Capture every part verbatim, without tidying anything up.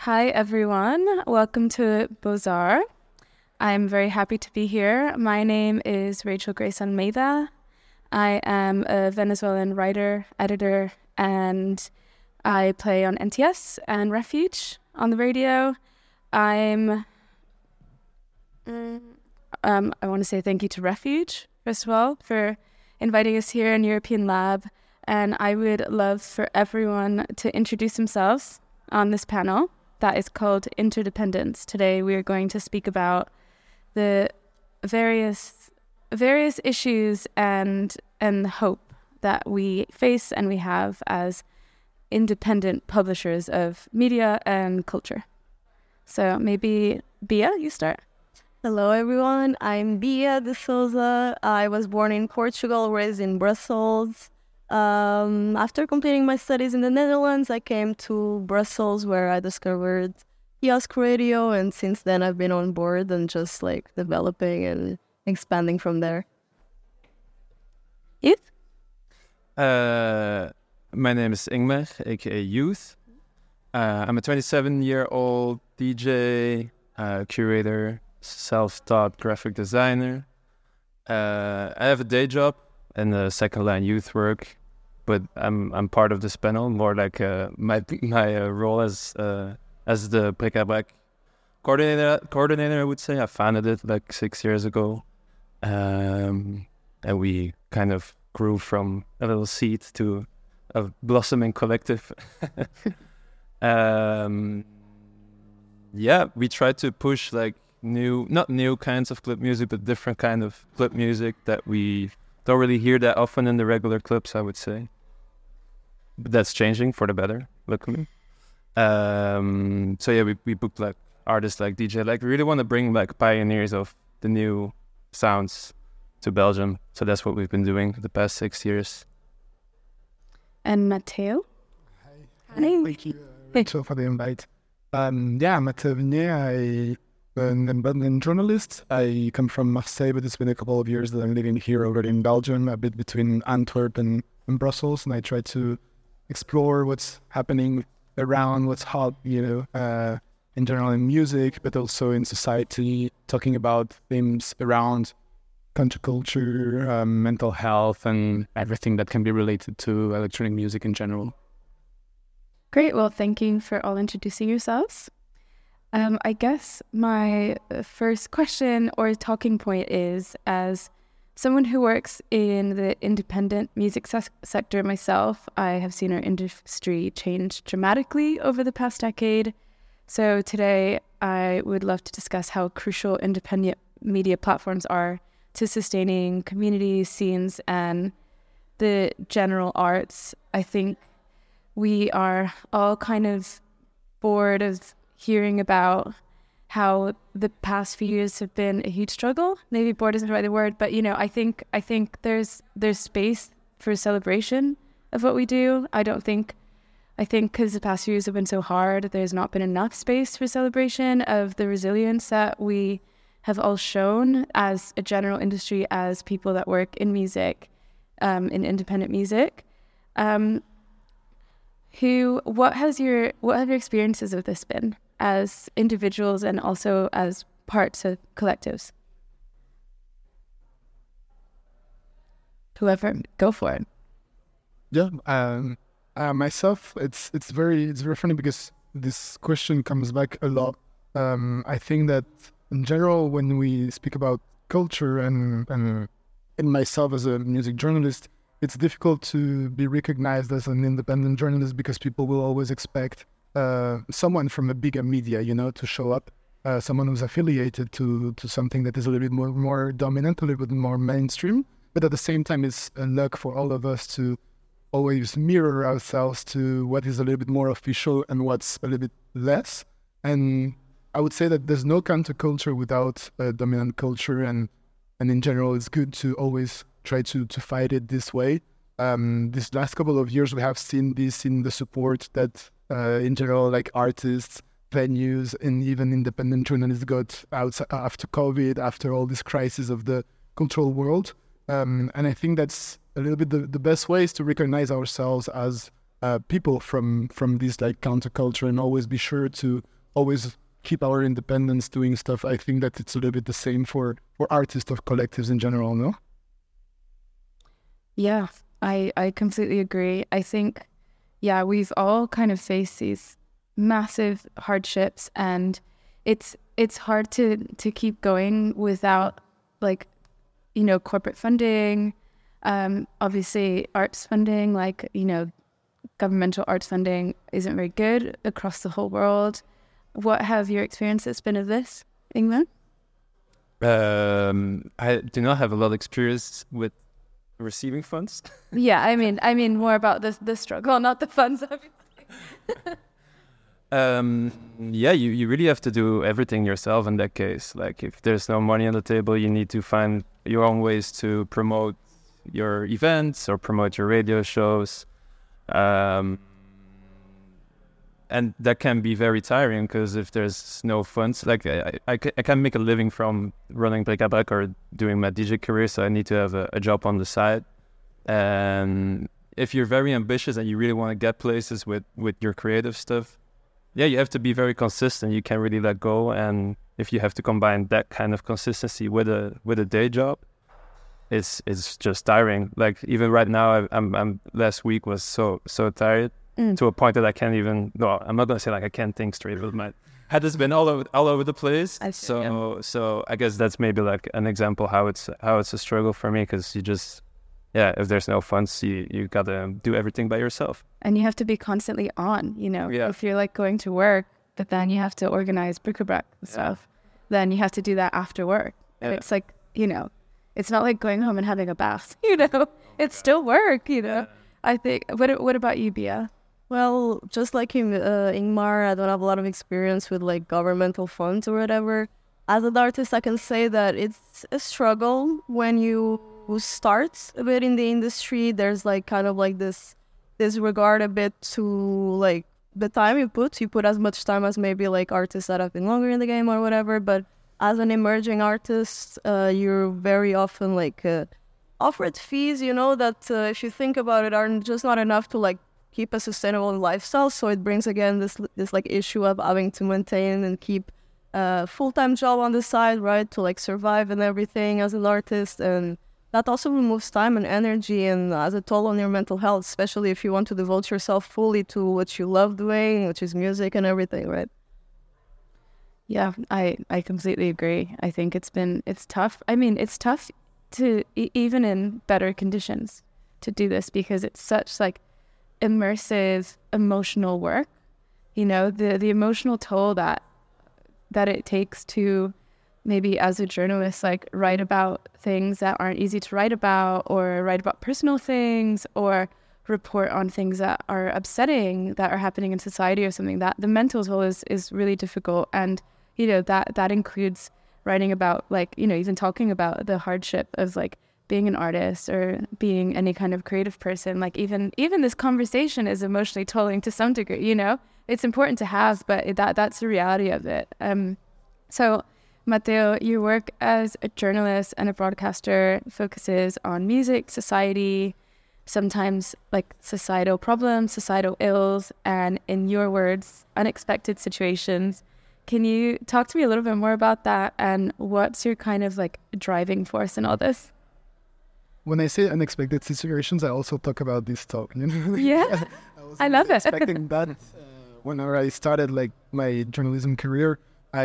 Hi, everyone. Welcome to Beaux-Arts. I'm very happy to be here. My name is Rachel Grace Almeida. I am a Venezuelan writer, editor, and I play on N T S and Refuge on the radio. I'm... Um, I want to say thank you to Refuge, first of all, for inviting us here in European Lab. And I would love for everyone to introduce themselves on this panel that is called Interdependence. Today we are going to speak about the various various issues and and hope that we face and we have as independent publishers of media and culture. So maybe Bia, you start. Hello everyone, I'm Bia de Souza. I was born in Portugal, raised in Brussels. Um, after completing my studies in the Netherlands, I came to Brussels where I discovered Kiosk Radio, and since then I've been on board and just like developing and expanding from there. Youth? Uh, my name is Ingmar, aka Youth. Uh, I'm a twenty-seven-year-old D J, uh, curator, self-taught graphic designer. Uh, I have a day job and a second-line youth work, but I'm I'm part of this panel more like uh, my my uh, role as uh, as the Bric-à-Brac coordinator. Coordinator, I would say. I founded it like six years ago, um, and we kind of grew from a little seed to a blossoming collective. um, yeah, we try to push like new, not new kinds of club music, but different kind of club music that we don't really hear that often in the regular clubs, I would say. But that's changing for the better, luckily. Um, so yeah, we, we booked like artists like D J. Like we really want to bring like pioneers of the new sounds to Belgium. So that's what we've been doing the past six years. And Matteo? Hi. Hi. Thank you, uh, Rachel, for the invite. Um, yeah, Matteo Vignier. I an independent journalist. I come from Marseille, but it's been a couple of years that I'm living here already in Belgium, a bit between Antwerp and, and Brussels, and I try to explore what's happening around, what's hot, you know, uh, in general in music, but also in society, talking about themes around counterculture, um, mental health, and everything that can be related to electronic music in general. Great. Well, thank you for all introducing yourselves. Um, I guess my first question or talking point is, as someone who works in the independent music se- sector myself, I have seen our industry change dramatically over the past decade. So today I would love to discuss how crucial independent media platforms are to sustaining community scenes and the general arts. I think we are all kind of bored of hearing about how the past few years have been a huge struggle. Maybe bored isn't the right word, but you know, I think I think there's there's space for celebration of what we do. I don't think, I think because the past few years have been so hard, there's not been enough space for celebration of the resilience that we have all shown as a general industry, as people that work in music, um, in independent music. Um, who, what has your, what have your experiences of this been as individuals and also as parts of collectives? Whoever, go for it. Yeah, um, uh, myself, it's it's very it's very funny because this question comes back a lot. Um, I think that in general, when we speak about culture and and in myself as a music journalist, it's difficult to be recognized as an independent journalist because people will always expect uh, someone from a bigger media, you know, to show up, uh, someone who's affiliated to to something that is a little bit more more dominant, a little bit more mainstream. But at the same time, it's a luck for all of us to always mirror ourselves to what is a little bit more official and what's a little bit less. And I would say that there's no counterculture without a dominant culture, and and in general, it's good to always try to to fight it this way. Um, this last couple of years, we have seen this in the support that, uh, in general, like artists, venues, and even independent journalists got out after COVID, after all this crisis of the cultural world. Um, and I think that's a little bit the, the best way is to recognize ourselves as uh, people from from this like counterculture, and always be sure to always keep our independence doing stuff. I think that it's a little bit the same for, for artists or collectives in general, no? Yeah, I, I completely agree. I think, yeah, we've all kind of faced these massive hardships, and it's it's hard to, to keep going without, like, you know, corporate funding, um, obviously arts funding, like, you know, governmental arts funding isn't very good across the whole world. What have your experiences been of this, Ingmar? Um, I do not have a lot of experience with receiving funds. Yeah, I mean, I mean more about the the struggle, not the funds, obviously. um, yeah, you, you really have to do everything yourself in that case. Like, if there's no money on the table, you need to find your own ways to promote your events or promote your radio shows. Um, and that can be very tiring, because if there's no funds, like I, I, I can't make a living from running Bric à Brac or doing my D J career, so I need to have a, a job on the side. And if you're very ambitious and you really want to get places with, with your creative stuff, yeah, you have to be very consistent. You can't really let go. And if you have to combine that kind of consistency with a with a day job, it's it's just tiring. Like, even right now, I, I'm I'm last week was so so tired. Mm. To a point that I can't even, no, I'm not going to say like I can't think straight, but my head has been all over all over the place. I see, so yeah. so I guess that's maybe like an example how it's how it's a struggle for me, because you just, yeah, if there's no funds, you, you got to do everything by yourself. And you have to be constantly on, you know, yeah. If you're like going to work, but then you have to organize Bric à Brac and stuff, yeah. Then you have to do that after work. Yeah. It's like, you know, it's not like going home and having a bath, you know, it's still work, you know. Yeah. I think, what what about you, Bia? Well, just like him, uh, Ingmar, I don't have a lot of experience with like governmental funds or whatever. As an artist, I can say that it's a struggle when you start a bit in the industry. There's like kind of like this disregard a bit to like the time you put. You put as much time as maybe like artists that have been longer in the game or whatever. But as an emerging artist, uh, you're very often like uh, offered fees, you know, that uh, if you think about it, are just not enough to like keep a sustainable lifestyle. So it brings again this this like issue of having to maintain and keep a full-time job on the side, right, to like survive and everything as an artist. And that also removes time and energy and has a toll on your mental health, especially if you want to devote yourself fully to what you love doing, which is music and everything, right? Yeah, I, I completely agree. I think it's been, it's tough. I mean, it's tough to, e- even in better conditions, to do this, because it's such like immersive emotional work, you know, the the emotional toll that that it takes to maybe as a journalist like write about things that aren't easy to write about, or write about personal things, or report on things that are upsetting that are happening in society or something. That the mental toll is is really difficult. And you know, that that includes writing about, like, you know, even talking about the hardship of like being an artist or being any kind of creative person. Like even even this conversation is emotionally tolling to some degree, you know. It's important to have, but that that's the reality of it. Um, so, Matteo, your work as a journalist and a broadcaster focuses on music, society, sometimes like societal problems, societal ills, and in your words, unexpected situations. Can you talk to me a little bit more about that, and what's your kind of like driving force in all this? When I say unexpected situations, I also talk about this talk. You know? Yeah, I, I love it. Expecting that. Uh, whenever I started like my journalism career,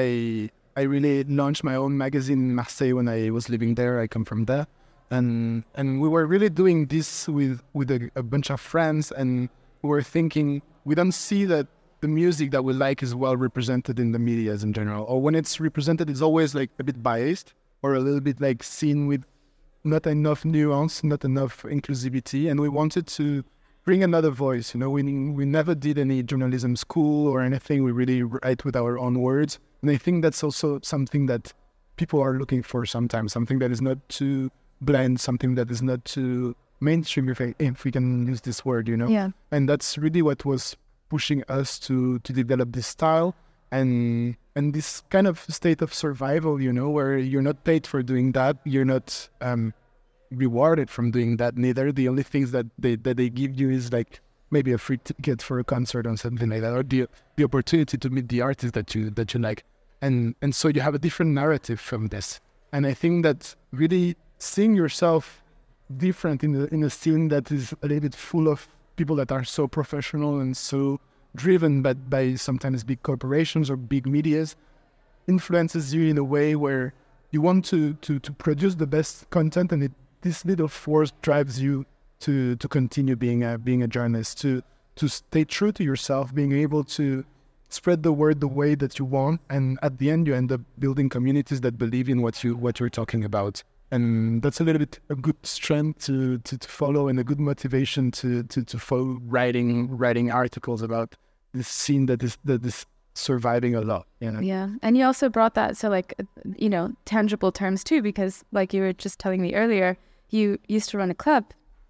I I really launched my own magazine in Marseille when I was living there. I come from there, and and we were really doing this with with a, a bunch of friends, and we were thinking we don't see that the music that we like is well represented in the media in general, or when it's represented, it's always like a bit biased or a little bit like seen with not enough nuance, not enough inclusivity, and we wanted to bring another voice. You know, we we never did any journalism school or anything. We really write with our own words, and I think that's also something that people are looking for sometimes. Something that is not too bland, something that is not too mainstream, if I, if we can use this word. You know, yeah. And that's really what was pushing us to to develop this style and and this kind of state of survival, you know, where you're not paid for doing that, you're not um, rewarded from doing that neither. The only things that they that they give you is like maybe a free ticket for a concert or something like that, or the the opportunity to meet the artist that you that you like, and and so you have a different narrative from this. And I think that really seeing yourself different in the in a scene that is a little bit full of people that are so professional and so driven by, by sometimes big corporations or big medias influences you in a way where you want to to, to produce the best content, and it, this little force drives you to to continue being a being a journalist, to to stay true to yourself, being able to spread the word the way that you want, and at the end you end up building communities that believe in what you what you're talking about. And that's a little bit a good strength to, to, to follow, and a good motivation to, to, to follow writing writing articles about this scene that is that is surviving a lot. You know? Yeah, and you also brought that to like you know tangible terms too, because like you were just telling me earlier, you used to run a club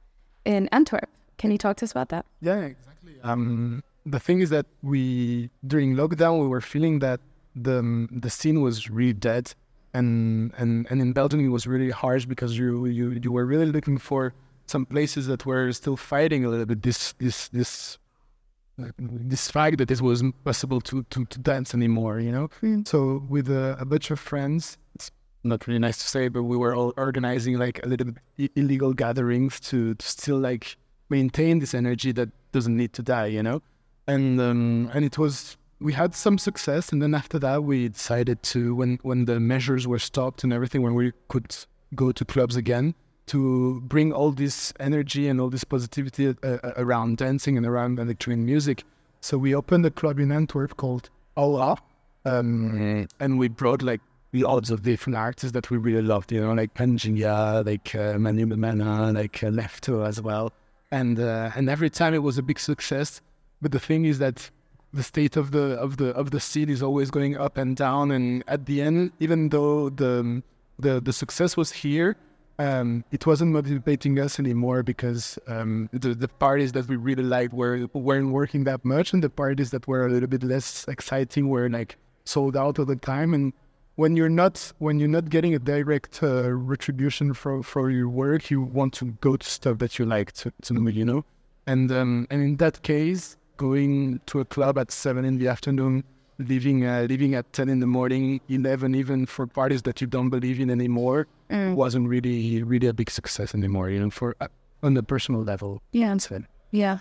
in Antwerp. Can you talk to us about that? Yeah, exactly. Um, the thing is that we during lockdown we were feeling that the the scene was really dead. And, and and in Belgium it was really harsh because you, you you were really looking for some places that were still fighting a little bit this this this uh, this fact that it wasn't possible to, to, to dance anymore, you know. Mm. So with a, a bunch of friends, it's not really nice to say, but we were all organizing like a little bit illegal gatherings to, to still like maintain this energy that doesn't need to die, you know. And um, and it was. We had some success, and then after that we decided to, when, when the measures were stopped and everything, when we could go to clubs again, to bring all this energy and all this positivity uh, around dancing and around electronic music. So we opened a club in Antwerp called Aula, um, mm. and we brought like lots of different artists that we really loved, you know, like Pangea, like uh, Manu Memana, like uh, Lefto as well. And uh, and every time it was a big success. But the thing is that the state of the of the of the scene is always going up and down, and at the end, even though the the the success was here, um, it wasn't motivating us anymore because um, the the parties that we really liked were weren't working that much, and the parties that were a little bit less exciting were like sold out all the time. And when you're not when you're not getting a direct uh, retribution for for your work, you want to go to stuff that you like to, to you know, and um, and in that case, going to a club at seven in the afternoon, leaving uh, leaving at ten in the morning, eleven even for parties that you don't believe in anymore, mm. wasn't really really a big success anymore. You know, for uh, on the personal level. Yeah, yeah.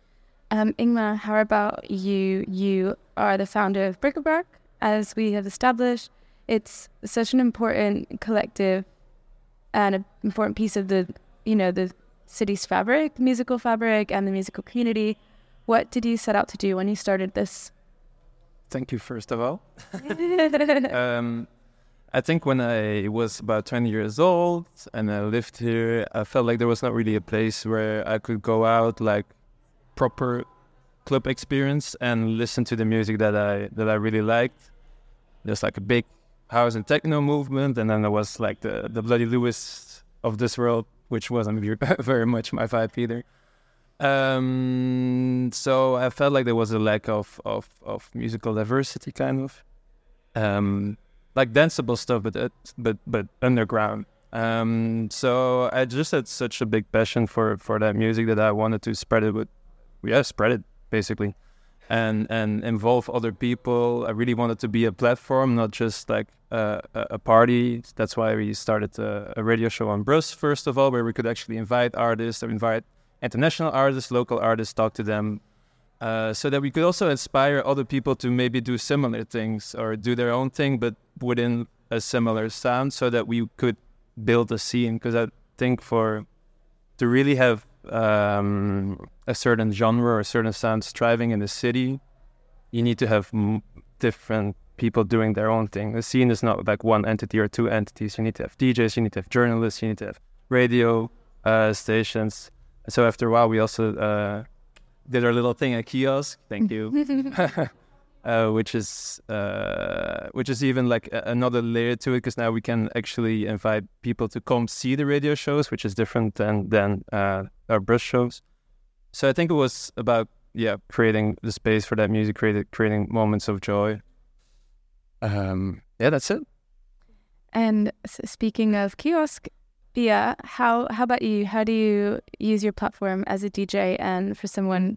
Um, Ingmar, how about you? You are the founder of Bric-a-Brac, as we have established. It's such an important collective and an important piece of the you know the city's fabric, musical fabric, and the musical community. What did you set out to do when you started this? Thank you, first of all. um, I think when I was about twenty years old and I lived here, I felt like there was not really a place where I could go out, like proper club experience, and listen to the music that I that I really liked. There's like a big house and techno movement, and then there was like the, the Bloody Lewis of this world, which wasn't very much my vibe either. Um, so I felt like there was a lack of, of, of musical diversity, kind of, um, like danceable stuff, but it, but but underground. Um, so I just had such a big passion for, for that music that I wanted to spread it with, yeah, spread it basically, and and involve other people. I really wanted to be a platform, not just like a, a party. That's why we started a, a radio show on Brus first of all, where we could actually invite artists or invite international artists, local artists, talk to them, uh, so that we could also inspire other people to maybe do similar things or do their own thing, but within a similar sound, so that we could build a scene. Because I think for to really have um, a certain genre or a certain sound thriving in the city, you need to have m- different people doing their own thing. The scene is not like one entity or two entities. You need to have D Js, you need to have journalists, you need to have radio uh, stations. So after a while, we also uh, did our little thing at Kiosk. Thank you, uh, which is uh, which is even like a- another layer to it, because now we can actually invite people to come see the radio shows, which is different than than uh, our Brus shows. So I think it was about yeah creating the space for that music, creating creating moments of joy. Um, yeah, that's it. And s- speaking of Kiosk, Bia, how how about you? How do you use your platform as a D J and for someone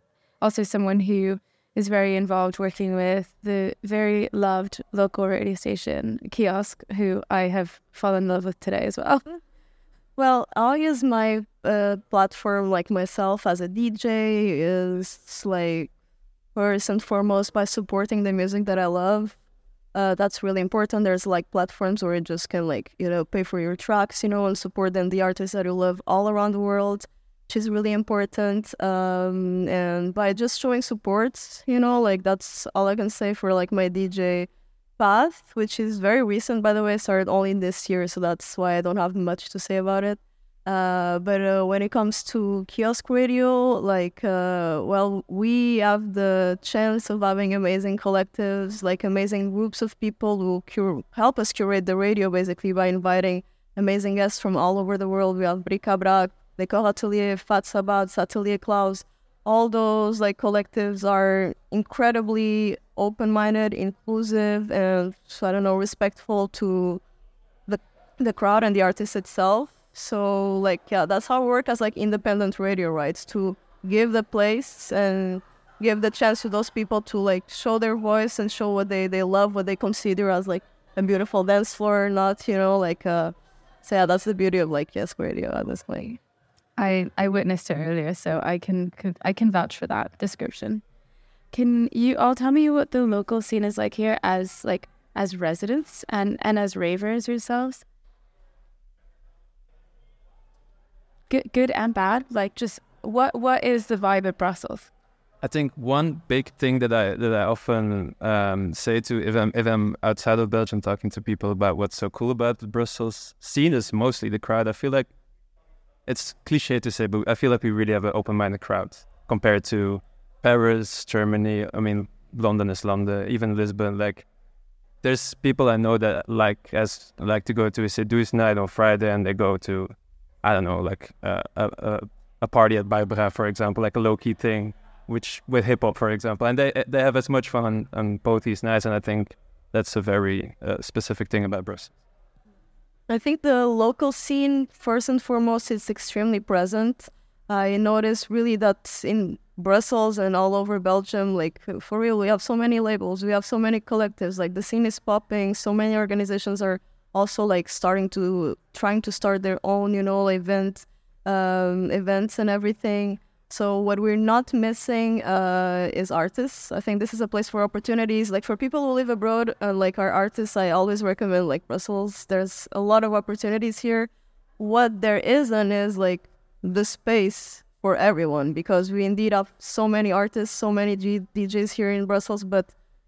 also someone who is very involved working with the very loved local radio station, Kiosk, who I have fallen in love with today as well. Well, I'll use my uh, platform, like myself as a D J, is like first and foremost by supporting the music that I love. Uh, that's really important. There's like platforms where you just can like, you know, pay for your tracks, you know, and support them, the artists that you love all around the world, which is really important. Um, and by just showing support, you know, like that's all I can say for like my D J path, which is very recent, by the way. I started only this year, so that's why I don't have much to say about it. Uh, but uh, when it comes to Kiosk Radio, like, uh, well, we have the chance of having amazing collectives, like amazing groups of people who cur- help us curate the radio, basically, by inviting amazing guests from all over the world. We have Bric-a-Brac, Décor Atelier, Fat Sabbat, Atelier Klaus. All those like collectives are incredibly open-minded, inclusive, and I don't know, respectful to the the crowd and the artist itself. So like yeah, that's how we work as like independent radio, right? To give the place and give the chance to those people to like show their voice and show what they, they love, what they consider as like a beautiful dance floor, not, you know, like uh so yeah, that's the beauty of like Kiosk Radio at this point. I, I witnessed it earlier, so I can I can vouch for that description. Can you all tell me what the local scene is like here as like as residents and, and as ravers yourselves? Good good and bad? Like just what what is the vibe of Brussels? I think one big thing that I that I often um, say to if I'm if I'm outside of Belgium talking to people about what's so cool about the Brussels scene is mostly the crowd. I feel like it's cliche to say, but I feel like we really have an open-minded crowd compared to Paris, Germany. I mean, London is London, even Lisbon. Like, there's people I know that like as like to go to a Seduce night on Friday, and they go to, I don't know, like uh, a, a a party at Baibra, for example, like a low-key thing, which with hip hop, for example, and they they have as much fun on both these nights, and I think that's a very uh, specific thing about Brussels. I think the local scene, first and foremost, is extremely present. I notice really that in Brussels and all over Belgium, like for real, we have so many labels, we have so many collectives, like the scene is popping, so many organizations are also like starting to, trying to start their own, you know, event, um, events and everything. So what we're not missing uh, is artists. I think this is a place for opportunities. Like for people who live abroad, uh, like our artists, I always recommend like Brussels. There's a lot of opportunities here. What there isn't is like the space for everyone, because we indeed have so many artists, so many G- D Js here in Brussels, but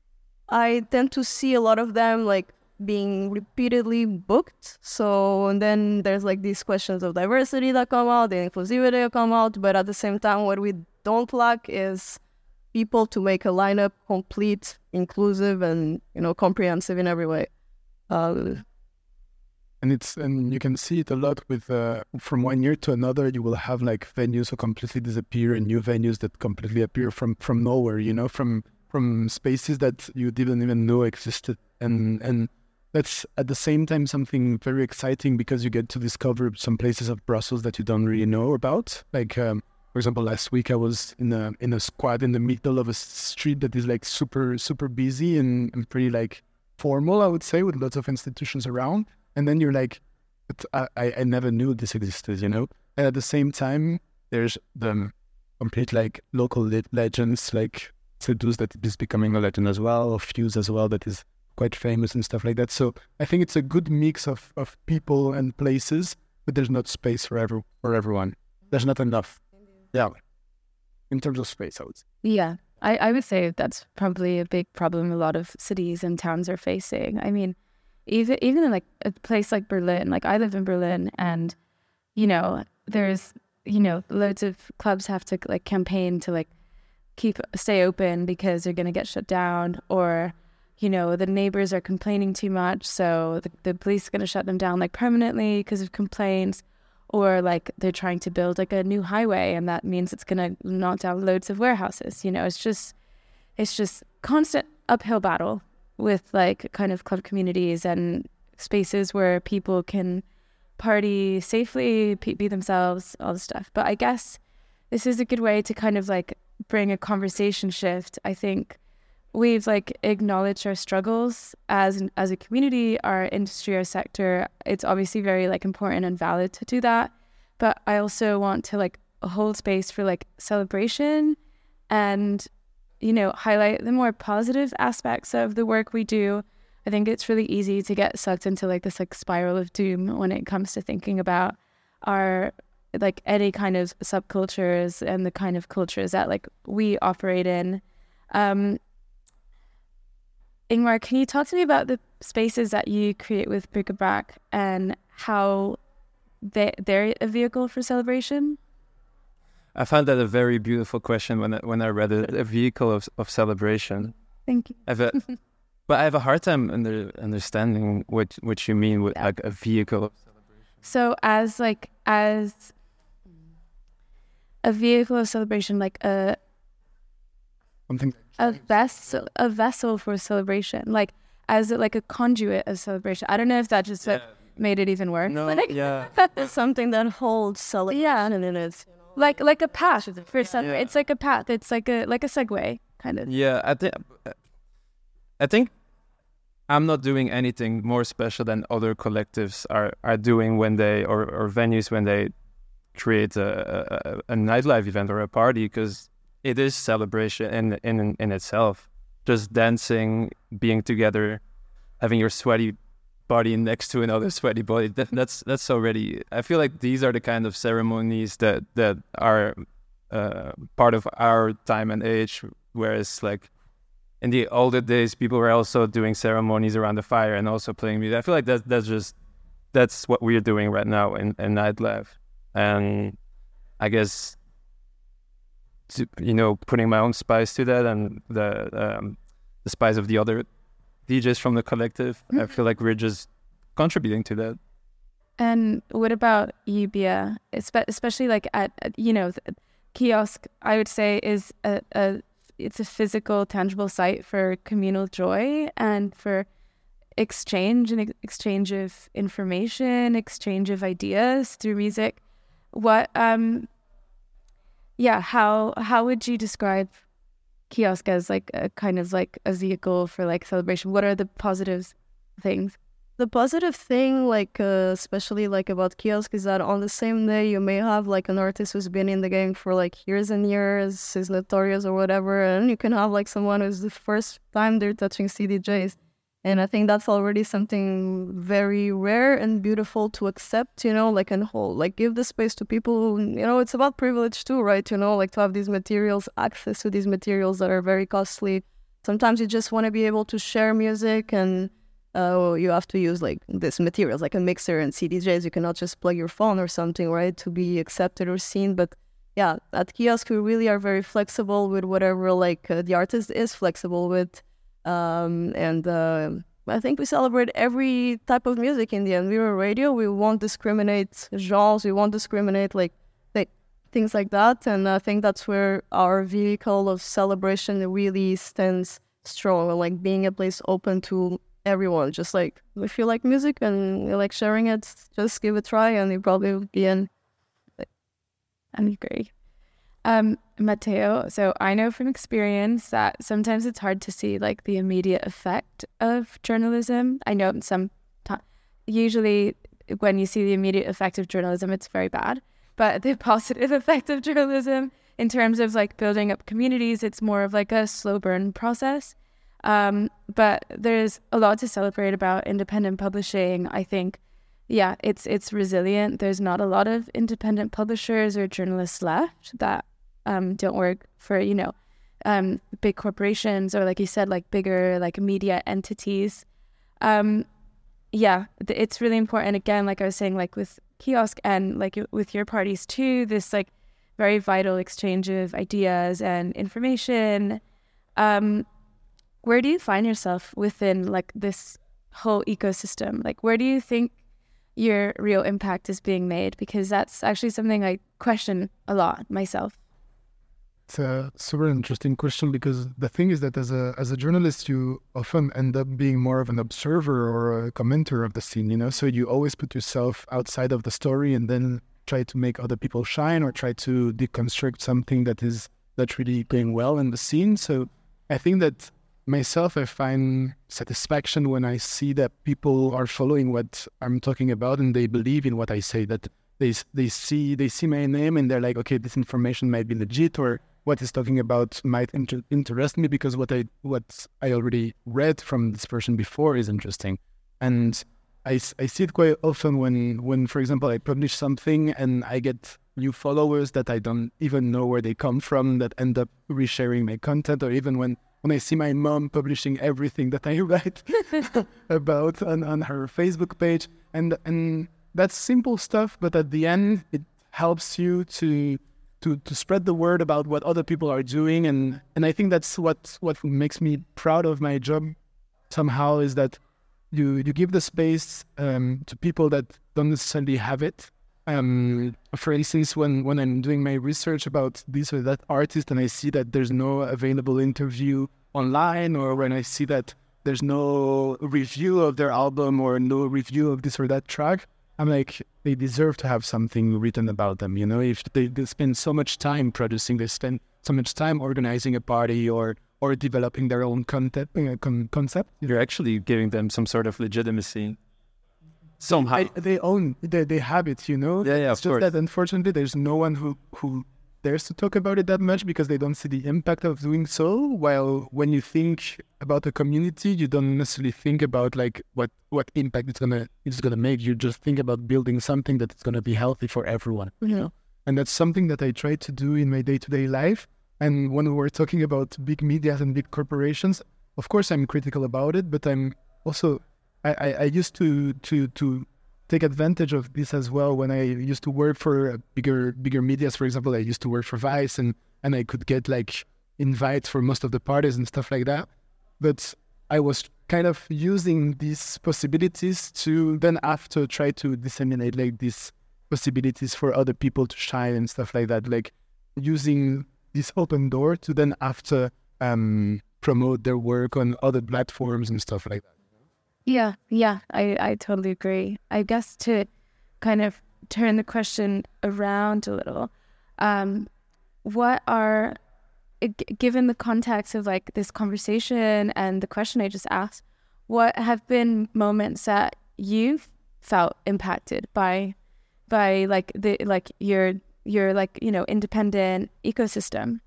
I tend to see a lot of them like being repeatedly booked. So and then there's like these questions of diversity that come out, the inclusivity that come out, but at the same time what we don't lack is people to make a lineup complete, inclusive, and you know comprehensive in every way. Uh, and it's and you can see it a lot with uh, from one year to another. You will have like venues who completely disappear and new venues that completely appear from from nowhere. You know, from from spaces that you didn't even know existed, and and that's at the same time something very exciting because you get to discover some places of Brussels that you don't really know about. Like, um, for example, last week I was in a in a squad in the middle of a street that is like super, super busy and, and pretty like formal, I would say, with lots of institutions around. And then you're like, but I, I, I never knew this existed, you know? And at the same time, there's the complete like local le- legends, like Seduce that is becoming a legend as well, or Fuse as well, that is quite famous and stuff like that. So I think it's a good mix of, of people and places, but there's not space for every, for everyone. There's not enough. Yeah. In terms of space, I would say. Yeah, I, I would say that's probably a big problem a lot of cities and towns are facing. I mean, even even in like a place like Berlin, like I live in Berlin, and, you know, there's, you know, loads of clubs have to like campaign to like keep, stay open because they're going to get shut down, or, you know, the neighbors are complaining too much, so the, the police are going to shut them down like permanently because of complaints, or like they're trying to build like a new highway and that means it's going to knock down loads of warehouses. You know, it's just, it's just constant uphill battle with like kind of club communities and spaces where people can party safely, be themselves, all this stuff. But I guess this is a good way to kind of like bring a conversation shift, I think we've like acknowledged our struggles as an, as a community, our industry, our sector. It's obviously very like important and valid to do that. But I also want to like hold space for like celebration and, you know, highlight the more positive aspects of the work we do. I think it's really easy to get sucked into like this like spiral of doom when it comes to thinking about our like any kind of subcultures and the kind of cultures that like we operate in. Um, Ingmar, can you talk to me about the spaces that you create with Bric-a-Brac and how they, they're a vehicle for celebration? I found that a very beautiful question when I, when I read it, a vehicle of, of celebration. Thank you. I have a, but I have a hard time under, understanding what what you mean with Yeah. like a vehicle of celebration. So as like as a vehicle of celebration, like a Something. a vessel a vessel for celebration, like as like a conduit of celebration. I don't know if that just like, made it even worse. No, Like, yeah. It's something that holds celebration Yeah. in it. like like a path for some. Yeah. It's like a path. It's like a like a segue kind of. Yeah, I think I think I'm not doing anything more special than other collectives are, are doing when they or, or venues when they create a, a, a nightlife event or a party, because it is celebration in in in itself. Just dancing, being together, having your sweaty body next to another sweaty body. That, that's that's already. I feel like these are the kind of ceremonies that that are uh, part of our time and age. Whereas like in the older days, people were also doing ceremonies around the fire and also playing music. I feel like that that's just that's what we're doing right now in, in nightlife. And I guess, to, you know, putting my own spice to that and the um, the spice of the other D Js from the collective, mm-hmm. I feel like we're just contributing to that. And what about you, Bia? Espe- especially like at, at you know, the kiosk, I would say is a, a it's a physical, tangible site for communal joy and for exchange and ex- exchange of information, exchange of ideas through music. What, um, yeah, how how would you describe kiosk as like a kind of like a vehicle for like celebration? What are the positive things? The positive thing, like uh, especially like about kiosk, is that on the same day you may have like an artist who's been in the game for like years and years, is notorious or whatever, and you can have like someone who's the first time they're touching C D Js. And I think that's already something very rare and beautiful to accept, you know, like and whole, like give the space to people who, you know, it's about privilege too, right? You know, like to have these materials, access to these materials that are very costly. Sometimes you just want to be able to share music and uh, you have to use like this materials, like a mixer and C D Js. You cannot just plug your phone or something, right, to be accepted or seen. But yeah, at kiosk, we really are very flexible with whatever like uh, the artist is flexible with. Um, and uh, I think we celebrate every type of music in the end. We're a radio. We won't discriminate genres. We won't discriminate like, like things like that. And I think that's where our vehicle of celebration really stands strong. Like being a place open to everyone. Just like if you like music and you like sharing it, just give it a try, and you probably will be in. I agree. Um, Matteo, so I know from experience that sometimes it's hard to see like the immediate effect of journalism. I know some t- usually when you see the immediate effect of journalism, it's very bad. But the positive effect of journalism in terms of like building up communities, it's more of like a slow burn process. Um, but there's a lot to celebrate about independent publishing. I think, yeah, it's it's resilient. There's not a lot of independent publishers or journalists left that Um, don't work for, you know, um, big corporations or, like you said, like bigger, like media entities. Um, yeah, th- it's really important. Again, like I was saying, like with kiosk and like with your parties too, this like very vital exchange of ideas and information. Um, where do you find yourself within like this whole ecosystem? Like, where do you think your real impact is being made? Because that's actually something I question a lot myself. It's a super interesting question, because the thing is that as a as a journalist, you often end up being more of an observer or a commenter of the scene, you know? So you always put yourself outside of the story and then try to make other people shine or try to deconstruct something that is not really going well in the scene. So I think that myself, I find satisfaction when I see that people are following what I'm talking about and they believe in what I say, that they they see they see my name and they're like, okay, this information might be legit, or what he's talking about might inter- interest me because what I what I already read from this person before is interesting. And I, I see it quite often when, when, for example, I publish something and I get new followers that I don't even know where they come from that end up resharing my content, or even when, when I see my mom publishing everything that I write about on, on her Facebook page. And and that's simple stuff, but at the end, it helps you to to to spread the word about what other people are doing. And, and I think that's what, what makes me proud of my job somehow, is that you you give the space um, to people that don't necessarily have it. Um, for instance, when, when I'm doing my research about this or that artist and I see that there's no available interview online, or when I see that there's no review of their album or no review of this or that track, I'm like, they deserve to have something written about them. You know, if they, they spend so much time producing, they spend so much time organizing a party or or developing their own content, uh, con- concept. You're actually giving them some sort of legitimacy. Somehow. I, they own, they, they have it, you know? Yeah, yeah, it's of just course. that unfortunately there's no one who, who dares to talk about it that much because they don't see the impact of doing so. While when you think about a community, you don't necessarily think about like what, what impact it's gonna it's gonna make. You just think about building something that is gonna be healthy for everyone. You know? And that's something that I try to do in my day-to-day life. And when we're talking about big media and big corporations, of course I'm critical about it, but I'm also I, I, I used to to to take advantage of this as well when I used to work for bigger bigger medias. For example, I used to work for Vice, and, and I could get like invites for most of the parties and stuff like that. But I was kind of using these possibilities to then after try to disseminate like these possibilities for other people to shine and stuff like that. Like using this open door to then after um, promote their work on other platforms and stuff like that. Yeah, yeah, I, I totally agree. I guess to kind of turn the question around a little, um, what are, g- given the context of like this conversation and the question I just asked, what have been moments that you've felt impacted by, by like the like your your like you know independent ecosystem?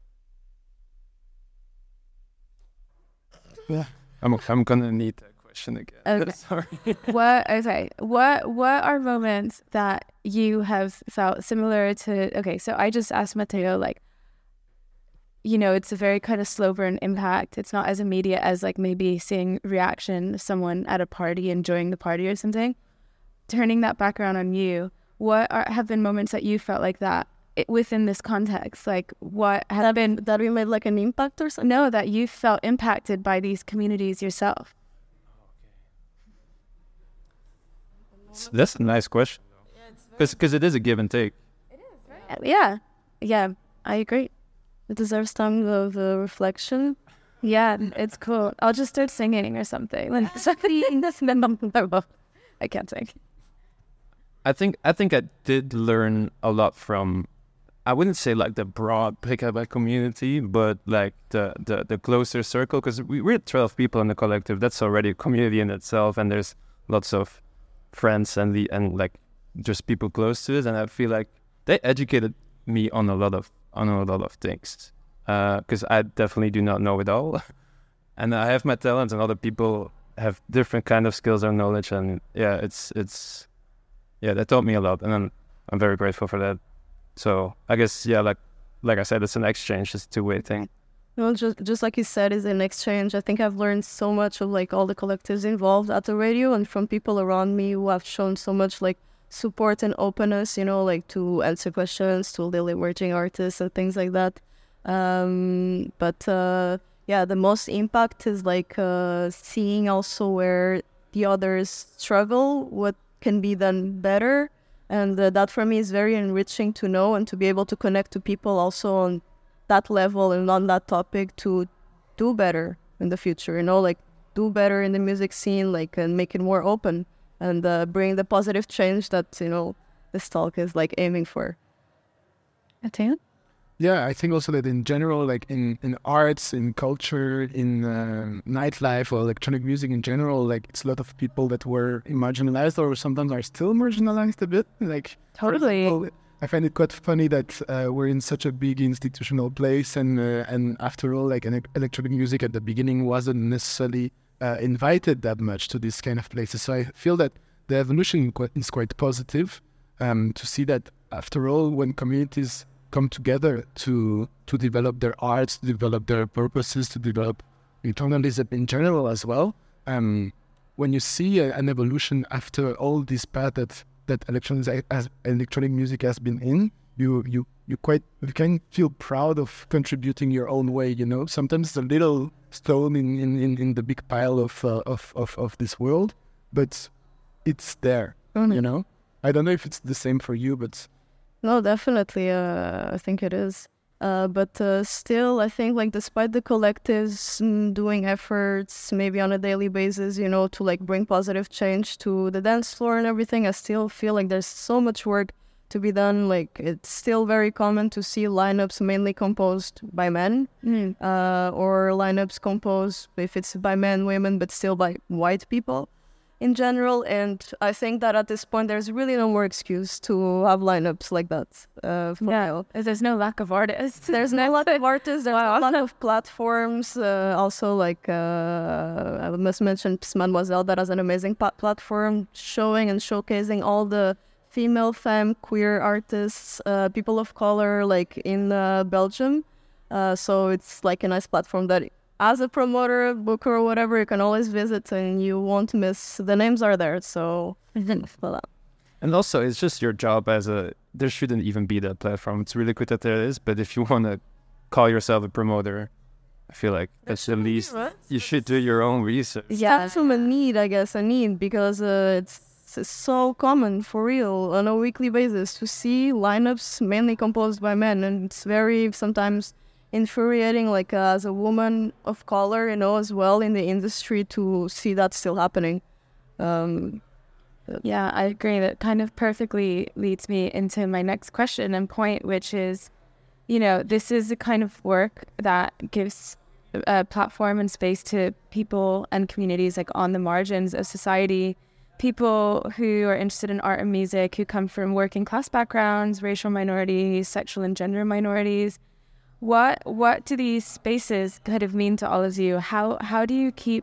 Yeah, I'm I'm gonna need that question again. Okay. Sorry. What okay? What what are moments that you have felt similar to? Okay, so I just asked Matteo, like, you know, it's a very kind of slow burn impact. It's not as immediate as like maybe seeing reaction of someone at a party, enjoying the party or something. Turning that back around on you, what are, have been moments that you felt like that it, within this context? Like what have That, been, that we made like an impact or something? no, that you felt impacted by these communities yourself? So that's a nice question, because it is a give and take. Yeah, yeah, I agree. It deserves time of uh, reflection. Yeah, it's cool. I'll just start singing or something. Like something. I can't sing. I think I think I did learn a lot from, I wouldn't say like the broad Prekaba community, but like the, the, the closer circle, because we, we're twelve people in the collective. That's already a community in itself, and there's lots of friends and the and like just people close to it. And I feel like they educated me on a lot of on a lot of things, because uh, I definitely do not know it all, and I have my talents, and other people have different kind of skills or knowledge, and yeah, it's it's. Yeah, that taught me a lot, and I'm I'm very grateful for that. So I guess yeah, like like I said, it's an exchange, it's a two way thing. Well, just just like you said, it's an exchange. I think I've learned so much of like all the collectives involved at the radio, and from people around me who have shown so much like support and openness, you know, like to answer questions to little emerging artists and things like that. Um, but uh, yeah, the most impact is like uh, seeing also where the others struggle, what can be done better, and uh, that for me is very enriching to know and to be able to connect to people also on that level and on that topic to do better in the future, you know, like do better in the music scene, like and make it more open and uh, bring the positive change that, you know, this talk is like aiming for. Matteo? Yeah, I think also that in general, like in, in arts, in culture, in uh, nightlife or electronic music in general, like it's a lot of people that were marginalized or sometimes are still marginalized a bit. Like for Totally. example, I find it quite funny that uh, we're in such a big institutional place, and uh, and after all, like an electronic music at the beginning wasn't necessarily uh, invited that much to these kind of places. So I feel that the evolution qu- is quite positive um, to see that after all, when communities come together to to develop their arts, to develop their purposes, to develop journalism in general as well. Um, when you see a, an evolution after all this path that that electronic as electronic music has been in, you you you quite you can feel proud of contributing your own way. You know, sometimes it's a little stone in in, in, in the big pile of, uh, of of of this world, but it's there. Mm-hmm. You know, I don't know if it's the same for you, but. No, definitely. Uh, I think it is. Uh, but uh, still, I think like despite the collectives mm, doing efforts, maybe on a daily basis, you know, to like bring positive change to the dance floor and everything, I still feel like there's so much work to be done. Like it's still very common to see lineups mainly composed by men, Mm. uh, or lineups composed if it's by men, women, but still by white people in general. And I think that at this point there's really no more excuse to have lineups like that. Uh, for Yeah, now. there's no lack of artists. There's no lot of artists, there's Wow. a lot of platforms, uh, also like uh, I must mention Mademoiselle, that has an amazing pa- platform showing and showcasing all the female, femme, queer artists, uh, people of color, like in uh, Belgium. Uh, so it's like a nice platform that as a promoter, booker, or whatever, you can always visit and you won't miss. The names are there, so voilà. And also, it's just your job as a. There shouldn't even be that platform. It's really good that there is, but if you want to call yourself a promoter, I feel like that's at least you should do your own research. Yeah, that's a need, I guess, a need, because uh, it's, it's so common, for real, on a weekly basis to see lineups mainly composed by men, and it's very sometimes infuriating, like uh, as a woman of color, you know, as well in the industry, to see that still happening. Um, Yeah, I agree. That kind of perfectly leads me into my next question and point, which is, you know, this is the kind of work that gives a platform and space to people and communities like on the margins of society, people who are interested in art and music, who come from working class backgrounds, racial minorities, sexual and gender minorities. What what do these spaces kind of mean to all of you? How how do you keep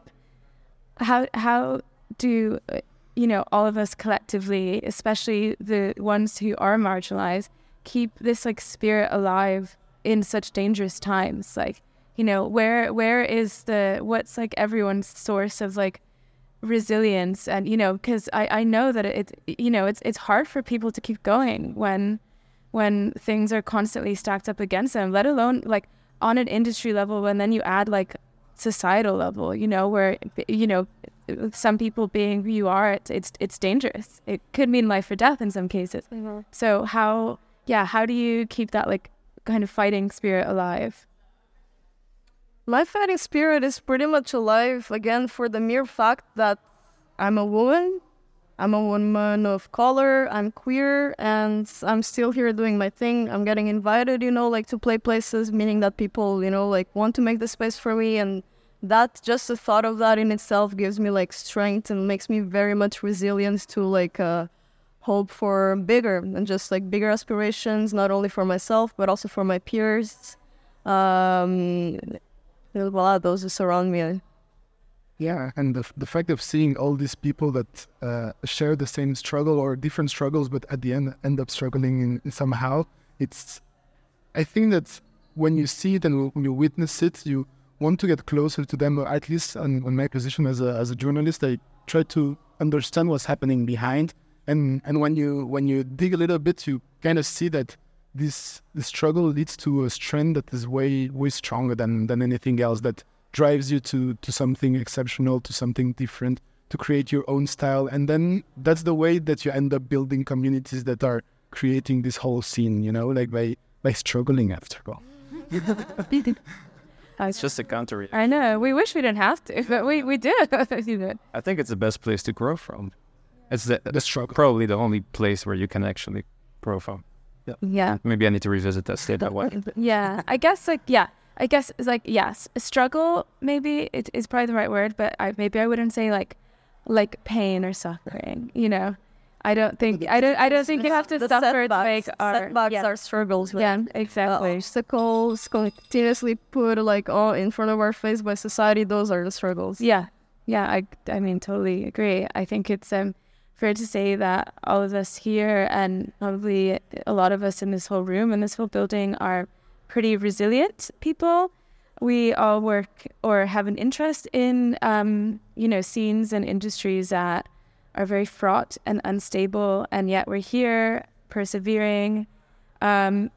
how how do you know all of us collectively, especially the ones who are marginalized, keep this like spirit alive in such dangerous times? Like, you know, where where is the what's like everyone's source of like resilience? And you know, because I I know that it you know it's it's hard for people to keep going when when things are constantly stacked up against them, let alone like on an industry level, when then you add like societal level, you know, where, you know, some people being who you are, it's it's, it's dangerous. It could mean life or death in some cases. Mm-hmm. So how, yeah, how do you keep that like kind of fighting spirit alive? My fighting spirit is pretty much alive, again, for the mere fact that I'm a woman. I'm a woman of color, I'm queer, and I'm still here doing my thing. I'm getting invited, you know, like to play places, meaning that people, you know, like want to make the space for me. And that, just the thought of that in itself gives me like strength and makes me very much resilient to like uh, hope for bigger and just like bigger aspirations, not only for myself, but also for my peers. Um, voila, those who surround me. Yeah, and the the fact of seeing all these people that uh, share the same struggle or different struggles, but at the end end up struggling in, in somehow, it's. I think that when you see it and when you witness it, you want to get closer to them. Or at least on, on my position as a as a journalist, I try to understand what's happening behind. And and when you when you dig a little bit, you kind of see that this this struggle leads to a strength that is way way stronger than than anything else. That drives you to to something exceptional, to something different, to create your own style. And then that's the way that you end up building communities that are creating this whole scene, you know, like by, by struggling after all. It's just a counter. I know. We wish we didn't have to, but we, we do. I think it's the best place to grow from. It's the, The struggle. probably the only place where you can actually grow from. Yeah. Yeah. Maybe I need to revisit that state that way. Yeah. I guess like yeah. I guess it's like yes, a struggle maybe it is probably the right word, but I maybe I wouldn't say like like pain or suffering. You know, I don't think I don't I don't think you have to The suffer to setbacks, make our setbacks yeah. are struggles. Like, Yeah, uh, exactly. obstacles continuously put like all in front of our face by society. Those are the struggles. Yeah, yeah. I I mean totally agree. I think it's um fair to say that all of us here and probably a lot of us in this whole room and this whole building are pretty resilient people. We all work or have an interest in, um, you know, scenes and industries that are very fraught and unstable, and yet we're here persevering. Um,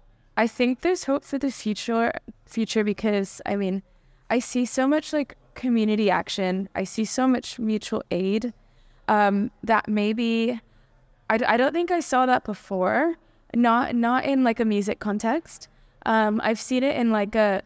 I think there's hope for the future, future because, I mean, I see so much like community action. I see so much mutual aid um, that maybe I, I don't think I saw that before. Not not in like a music context. Um, I've seen it in like a,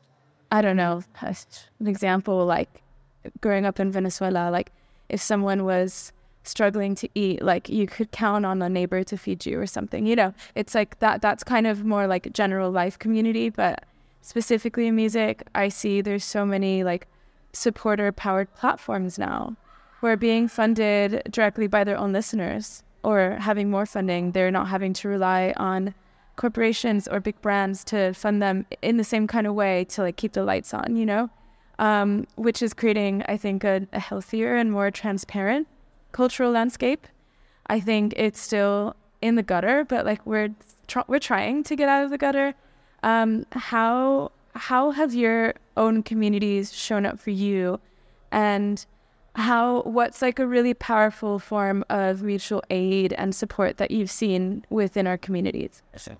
I don't know, an example like growing up in Venezuela, like if someone was struggling to eat, like you could count on a neighbor to feed you or something, you know, it's like that, that's kind of more like general life community, but specifically in music, I see there's so many like supporter powered platforms now who are being funded directly by their own listeners or having more funding. They're not having to rely on corporations or big brands to fund them in the same kind of way to like keep the lights on, you know, um, which is creating, I think, a, a healthier and more transparent cultural landscape. I think it's still in the gutter, but like we're tr- we're trying to get out of the gutter. Um, how how have your own communities shown up for you, and how what's like a really powerful form of mutual aid and support that you've seen within our communities?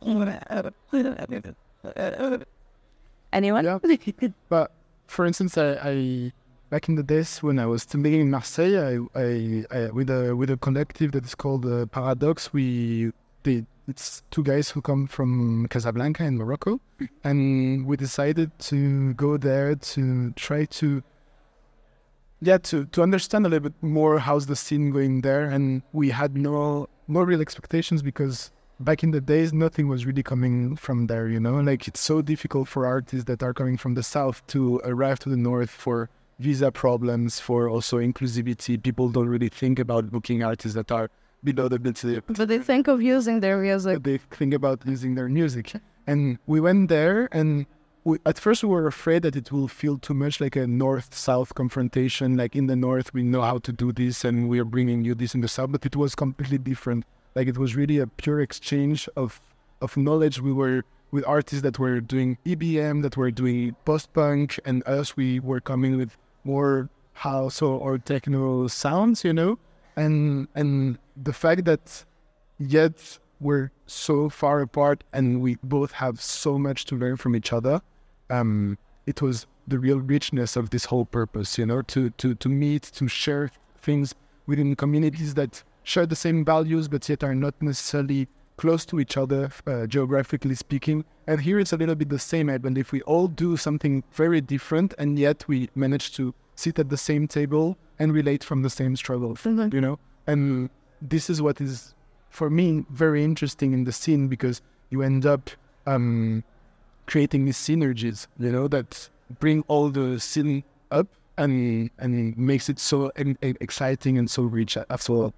Anyone? Yeah. But for instance, I, I back in the days when I was studying in Marseille, I, I, I with a with a collective that is called uh, Paradox. We they, it's two guys who come from Casablanca in Morocco, and we decided to go there to try to. Yeah, to, to understand a little bit more how's the scene going there, and we had no no real expectations because back in the days nothing was really coming from there, you know. Like it's so difficult for artists that are coming from the south to arrive to the north for visa problems, for also inclusivity. People don't really think about booking artists that are below the bit. But they think of using their music. They think about using their music, and we went there and. We, at first, we were afraid that it will feel too much like a north-south confrontation. Like in the north, we know how to do this, and we are bringing you this in the south. But it was completely different. Like it was really a pure exchange of of knowledge. We were with artists that were doing E B M, that were doing post-punk, and us, we were coming with more house or, or techno sounds, you know. And and the fact that yet we're so far apart, and we both have so much to learn from each other. Um, it was the real richness of this whole purpose, you know, to, to, to meet, to share things within communities that share the same values, but yet are not necessarily close to each other, uh, geographically speaking. And here it's a little bit the same, I believe. We all do something very different, and yet we manage to sit at the same table and relate from the same struggles, mm-hmm. you know. And this is what is, for me, very interesting in the scene, because you end up um, creating these synergies, you know, that bring all the scene up and and makes it so e- exciting and so rich as well.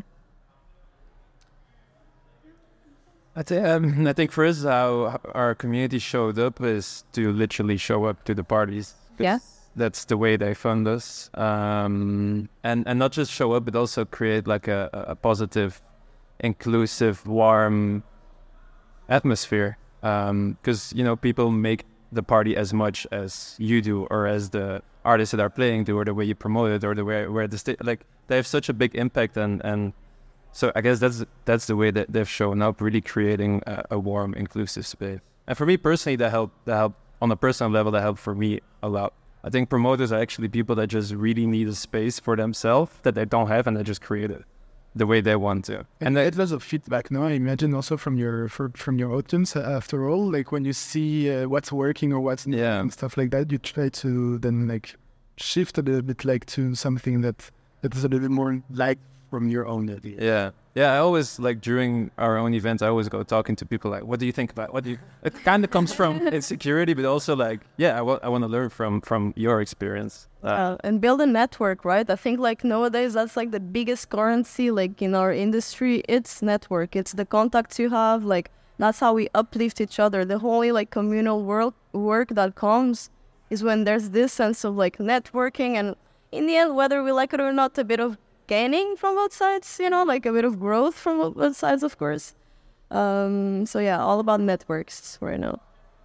I, th- um, I think for us, how our community showed up is to literally show up to the parties. Yeah. That's the way they fund us. Um, and, and not just show up, but also create like a, a positive, inclusive, warm atmosphere. Because, um, you know, people make the party as much as you do, or as the artists that are playing do, or the way you promote it, or the way where the state, like they have such a big impact. And, and so I guess that's that's the way that they've shown up, really creating a, a warm, inclusive space. And for me personally, that helped, that helped on a personal level, that helped for me a lot. I think promoters are actually people that just really need a space for themselves that they don't have, and they just create it the way they want to. And, and it lots of feedback, no? I imagine also from your for, from your audience. Uh, after all, like when you see uh, what's working or what's not yeah. and stuff like that, you try to then like shift a little bit, like to something that that is a little bit more like from your own idea. Yeah. Yeah, I always, like, during our own events, I always go talking to people, like, what do you think about, what do you, it kind of comes from insecurity, but also, like, yeah, I, wa- I want to learn from, from your experience. Uh, Uh, and build a network, right? I think like nowadays that's like the biggest currency like in our industry. It's network. It's the contacts you have. Like that's how we uplift each other. The whole like communal work work that comes is when there's this sense of like networking, and in the end, whether we like it or not, a bit of gaining from both sides. You know, like a bit of growth from both sides, of course. Um, so yeah, all about networks right now.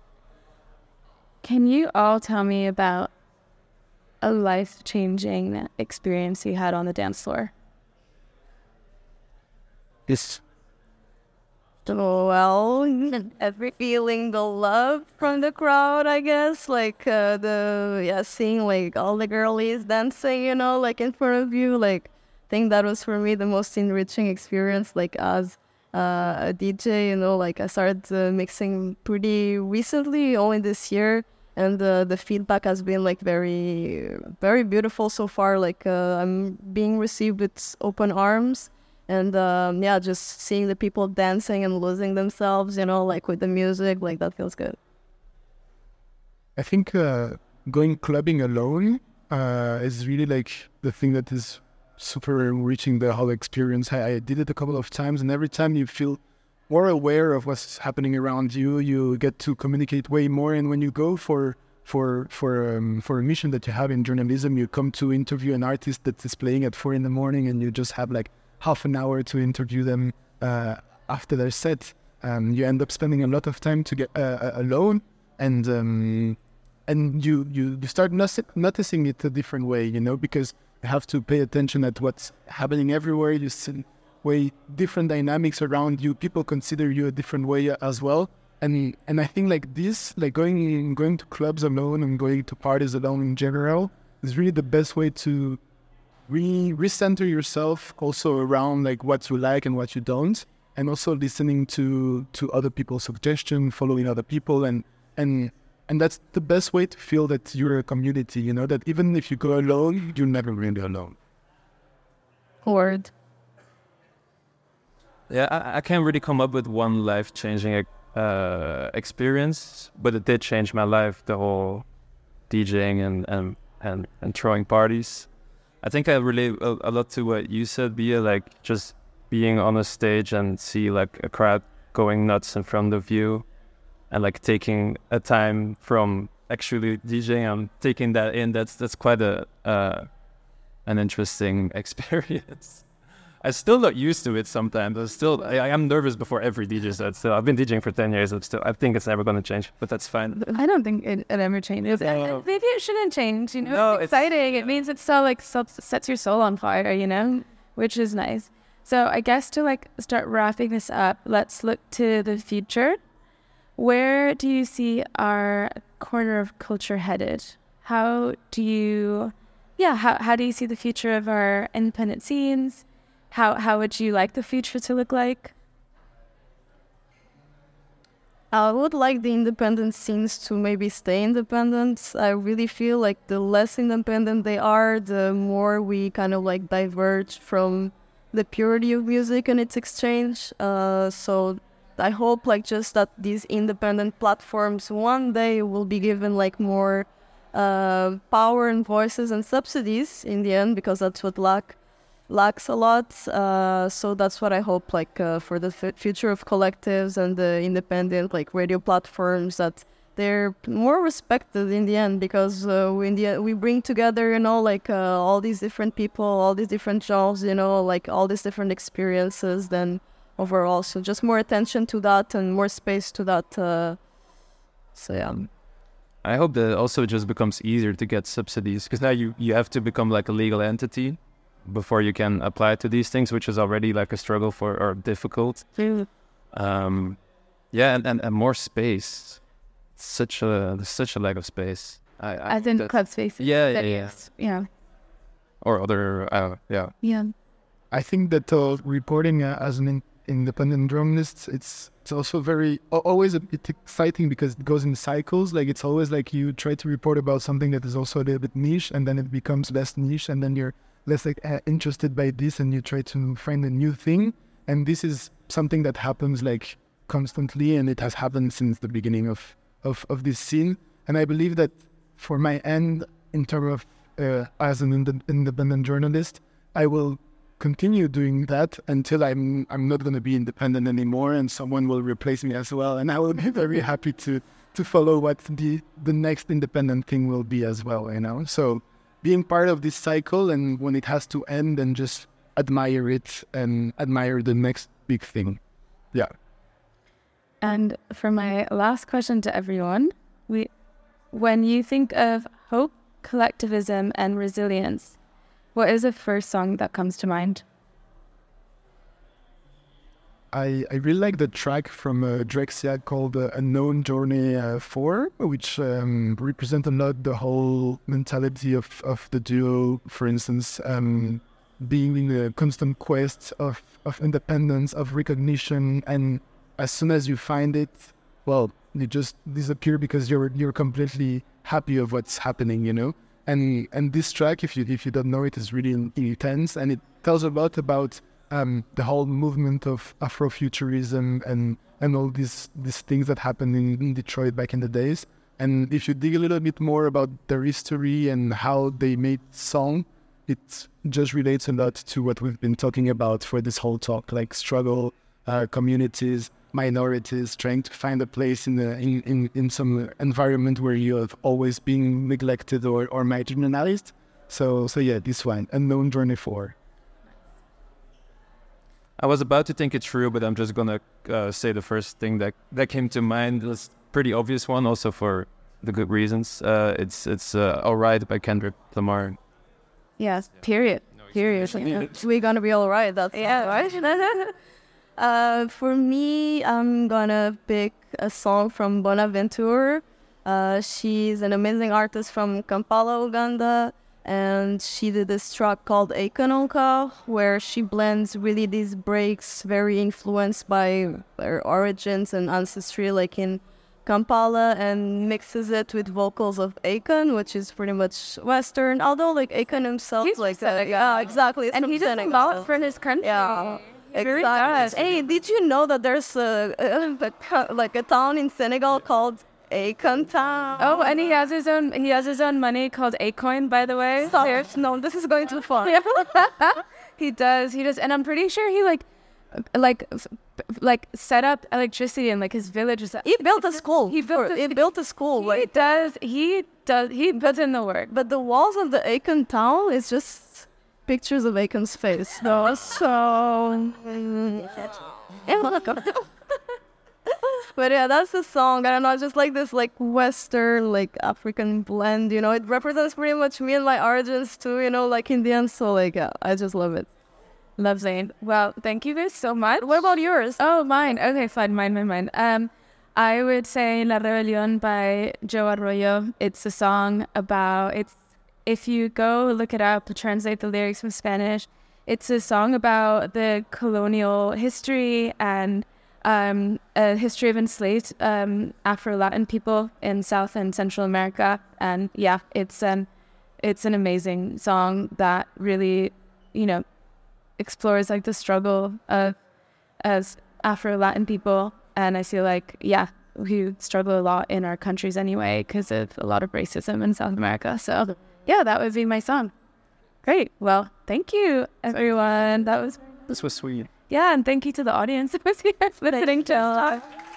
Can you all tell me about a life-changing experience you had on the dance floor? Yes. So, well, every feeling the love from the crowd, I guess, like uh, the yeah, seeing like all the girlies dancing, you know, like in front of you, like I think that was for me the most enriching experience, like as uh, a D J, you know, like I started uh, mixing pretty recently, only this year. And uh, the feedback has been like very, very beautiful so far. Like uh, I'm being received with open arms, and um, yeah, just seeing the people dancing and losing themselves, you know, like with the music, like that feels good. I think uh, going clubbing alone uh, is really like the thing that is super enriching the whole experience. I, I did it a couple of times, and every time you feel more aware of what's happening around you, you get to communicate way more. And when you go for for for um, for a mission that you have in journalism, you come to interview an artist that is playing at four in the morning, and you just have like half an hour to interview them uh, after their set. Um, you end up spending a lot of time to get uh, alone, and um, and you you you start noticing it a different way, you know, because you have to pay attention at what's happening everywhere. You see way different dynamics around you. People consider you a different way as well. And and I think like this, like going going to clubs alone and going to parties alone in general is really the best way to re recenter yourself also around like what you like and what you don't, and also listening to to other people's suggestions, following other people, and and and that's the best way to feel that you're a community, you know, that even if you go alone, you're never really alone. Word. Yeah, I, I can't really come up with one life-changing uh, experience, but it did change my life, the whole DJing and, and, and, and throwing parties. I think I relate a, a lot to what you said, Bia, like just being on a stage and see like a crowd going nuts in front of you and like taking a time from actually DJing and taking that in. That's that's quite a uh, an interesting experience. I'm still not used to it sometimes. I'm still, I, I am nervous before every D J set. Still, I've been DJing for ten years. I'm still, I think it's never going to change, but that's fine. I don't think it, it ever changes. No. Maybe it shouldn't change, you know? No, it's it's- exciting. It means it's so, like, so, sets your soul on fire, you know? Which is nice. So I guess to, like, start wrapping this up, let's look to the future. Where do you see our corner of culture headed? How do you, yeah, how, how do you see the future of our independent scenes? How how would you like the future to look like? I would like the independent scenes to maybe stay independent. I really feel like the less independent they are, the more we kind of like diverge from the purity of music and its exchange. Uh, so I hope like just that these independent platforms one day will be given like more uh, power and voices and subsidies in the end, because that's what lack lacks a lot. Uh, so that's what I hope like uh, for the f- future of collectives and the independent like radio platforms, that they're more respected in the end, because uh, we in the we bring together, you know, like uh, all these different people, all these different genres, you know, like all these different experiences. Then overall, so just more attention to that and more space to that. Uh, so yeah. I hope that also just becomes easier to get subsidies, because now you, you have to become like a legal entity before you can apply to these things, which is already like a struggle for or difficult. Um, yeah, and, and, and more space. Such a there's such a lack of space. I, I As in that- club spaces. Yeah, yeah, that yeah. is- yeah. Or other, uh, yeah. Yeah. I think that uh, reporting uh, as an in- independent journalist, it's it's also very al- always a bit exciting, because it goes in cycles. Like it's always like you try to report about something that is also a little bit niche, and then it becomes less niche, and then you're less like uh, interested by this, and you try to find a new thing. And this is something that happens like constantly, and it has happened since the beginning of of, of this scene. And I believe that for my end, in terms of uh, as an ind- independent journalist, I will continue doing that until I'm I'm not going to be independent anymore, and someone will replace me as well. And I will be very happy to to follow what the the next independent thing will be as well. You know, so being part of this cycle, and when it has to end, and just admire it and admire the next big thing. Yeah. And for my last question to everyone, we, when you think of hope, collectivism, and resilience, what is the first song that comes to mind? I, I really like the track from uh, Drexciya called uh, Unknown Journey uh, four, which um, represent a lot the whole mentality of, of the duo, for instance, um, being in a constant quest of, of independence, of recognition, and as soon as you find it, well, you just disappear because you're you're completely happy of what's happening, you know? And and this track, if you if you don't know it, is really intense, and it tells a lot about um, the whole movement of Afrofuturism and and all these these things that happened in, in Detroit back in the days. And if you dig a little bit more about their history and how they made song, it just relates a lot to what we've been talking about for this whole talk, like struggle, uh, communities, minorities, trying to find a place in, the, in, in, in some environment where you have always been neglected or, or marginalized. So, so yeah, this one, Unknown Journey four. I was about to think it through, but I'm just gonna uh, say the first thing that, that came to mind. It's a pretty obvious one, also for the good reasons. Uh, it's it's uh, All Right by Kendrick Lamar. Yes, period. Period. We're gonna be all right. That's yeah, right. uh, for me, I'm gonna pick a song from Bonaventure. Uh, she's an amazing artist from Kampala, Uganda, and she did this track called Ekononka, where she blends really these breaks, very influenced by her origins and ancestry, like in Kampala, and mixes it with vocals of Akon, which is pretty much Western. Although, like Akon himself, He's like uh, yeah, exactly, and he does a lot for his country. Yeah, Very exactly. does. Hey, did you know that there's a, a, a like a town in Senegal called Akon Town? Oh, and he has his own. He has his own money called Acoin, by the way. Stop. No, this is going too far. He does. He does, and I'm pretty sure he like, like, f- like set up electricity in like his village. He built a school. He built. For, A, he built a school. He Like, does. He does. He puts in the work. but the walls of the Akon Town is just pictures of Akon's face. No, so. But yeah, that's the song. I don't know, just like this like Western, like African blend, you know. It represents pretty much me and my origins too, you know, like Indian. So like, yeah, I just love it. Lovely. Well, thank you guys so much. What about yours? Oh, mine. Okay, fine. Mine, mine, mine. Um, I would say La Rebelión by Joe Arroyo. It's a song about, it's, if you go look it up, translate the lyrics from Spanish, it's a song about the colonial history and um, a history of enslaved um, Afro-Latin people in South and Central America. And yeah, it's an, it's an amazing song that really, you know, explores like the struggle of as Afro-Latin people. And I feel like, yeah, we struggle a lot in our countries anyway because of a lot of racism in South America. So yeah, that would be my song. Great. Well, thank you, everyone. That was This was sweet. yeah, and thank you to the audience who was here listening to us.